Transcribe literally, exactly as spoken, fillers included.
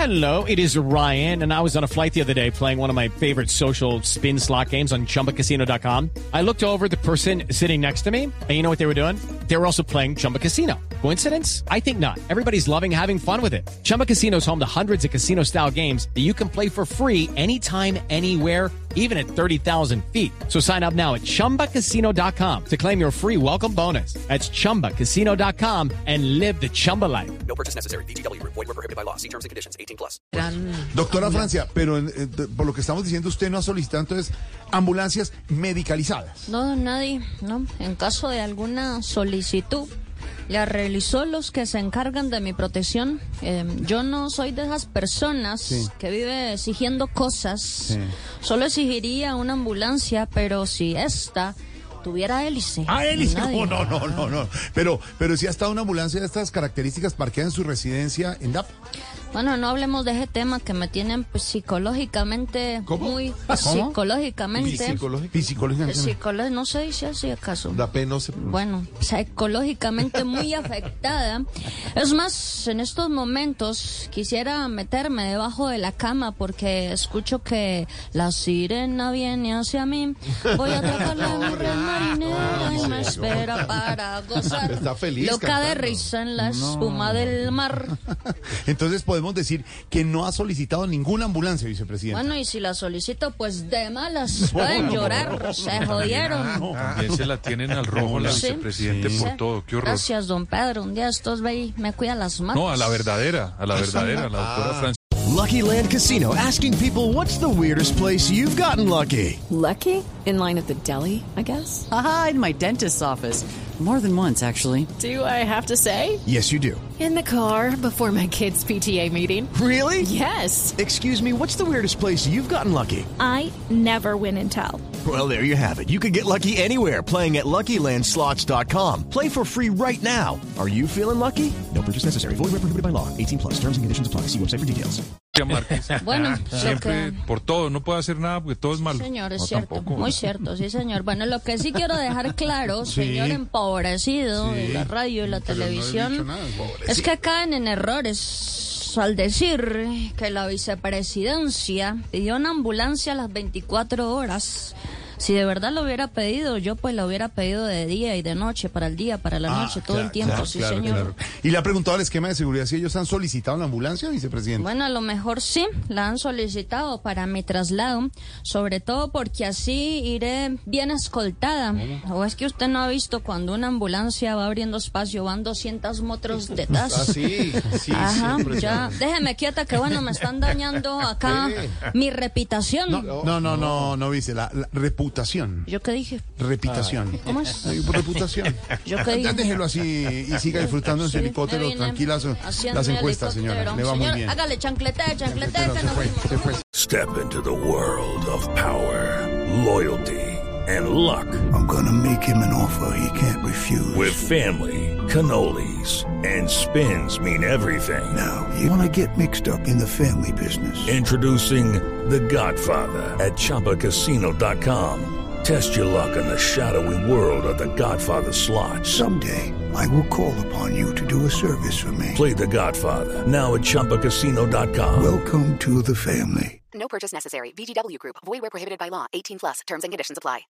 Hello, it is Ryan, and I was on a flight the other day playing one of my favorite social spin slot games on Chumba Casino dot com. I looked over at the person sitting next to me, and you know what they were doing? They were also playing Chumba Casino. Coincidence? I think not. Everybody's loving having fun with it. Chumba Casino is home to hundreds of casino-style games that you can play for free anytime, anywhere, even at thirty thousand feet. So sign up now at Chumba Casino dot com to claim your free welcome bonus. That's Chumba Casino dot com and live the Chumba life. No purchase necessary. V G W. Void where prohibited by law. See terms and conditions. eighteen plus. Doctora Francia, pero eh, por lo que estamos diciendo, usted no ha solicitado entonces ambulancias medicalizadas. No, nadie, no. En caso de alguna solicitud, la realizó los que se encargan de mi protección. Eh, yo no soy de esas personas Sí. que vive exigiendo cosas. Sí. Solo exigiría una ambulancia, pero si esta tuviera hélice. Ah, hélice. nadie. No, no, no, no, no. Pero, pero si ha estado una ambulancia de estas características parqueada en su residencia en D A P. Bueno, no hablemos de ese tema que me tienen pues, psicológicamente ¿Cómo? muy ¿Cómo? psicológicamente Psicológicamente. Psicológicamente. psicolo- no se dice así acaso. La P no se... Bueno, psicológicamente muy afectada. Es más, en estos momentos quisiera meterme debajo de la cama porque escucho que la sirena viene hacia mí. Voy a atraparla en mi red marinera y me espera para gozar. Está feliz Loca de cantando. risa en la espuma del mar. Entonces podemos decir que no ha solicitado ninguna ambulancia, vicepresidente. Bueno, y si la solicito, pues de malas pueden llorar. Se jodieron. También se la tienen al rojo la Sí. vicepresidente Sí. por todo. Qué horror. Gracias, don Pedro. Un día estos ve y me cuida las manos. No, a la verdadera, a la verdadera, la doctora Francia. Lucky Land Casino, asking people, what's the weirdest place you've gotten lucky? Lucky? In line at the deli, I guess? Aha, in my dentist's office. More than once, actually. Do I have to say? Yes, you do. In the car before my kids' P T A meeting. Really? Yes. Excuse me, what's the weirdest place you've gotten lucky? I never win and tell. Well, there you have it. You can get lucky anywhere, playing at Lucky Land Slots dot com. Play for free right now. Are you feeling lucky? No purchase necessary. Void where prohibited by law. eighteen plus. Terms and conditions apply. See website for details. Márquez. Bueno, lo Siempre, que... por todo, no puede hacer nada porque todo es malo. Señor, es No, cierto, tampoco. muy cierto, sí señor. Bueno, lo que sí quiero dejar claro, señor empobrecido de la radio y la televisión, es que caen en errores al decir que la vicepresidencia pidió una ambulancia a las veinticuatro horas. Si de verdad lo hubiera pedido, yo pues lo hubiera pedido de día y de noche, para el día, para la Ah, noche, todo claro, el tiempo, claro, sí claro, señor. claro. Y le ha preguntado al esquema de seguridad si ellos han solicitado la ambulancia, vicepresidente. Bueno, a lo mejor sí, la han solicitado para mi traslado, sobre todo porque así iré bien escoltada. O es que usted no ha visto cuando una ambulancia va abriendo espacio, van doscientos metros detrás. Ah, sí, sí, Ajá, siempre, ya, déjeme quieta que bueno, me están dañando acá mi reputación. No, no, no, no, no, vice, la, la reputación. ¿Yo qué dije? Reputación. ¿Cómo es? Ay, reputación. ¿Yo qué Ya dije? déjelo así y siga disfrutando en su Sí, helicóptero, me vine tranquilas haciendo las mi encuestas, helicóptero. señora. Le va muy Señor, bien. hágale chanclete, chanclete, que Se no... fue, se fue. Step into the world of power, loyalty, and luck. I'm gonna make him an offer he can't refuse. With family, cannolis, and spins mean everything. Now, you wanna get mixed up in the family business. Introducing The Godfather at Chumba Casino dot com. Test your luck in the shadowy world of The Godfather slot. Someday, I will call upon you to do a service for me. Play The Godfather now at Chumba Casino dot com. Welcome to the family. No purchase necessary. V G W Group. Void where prohibited by law. eighteen plus. Terms and conditions apply.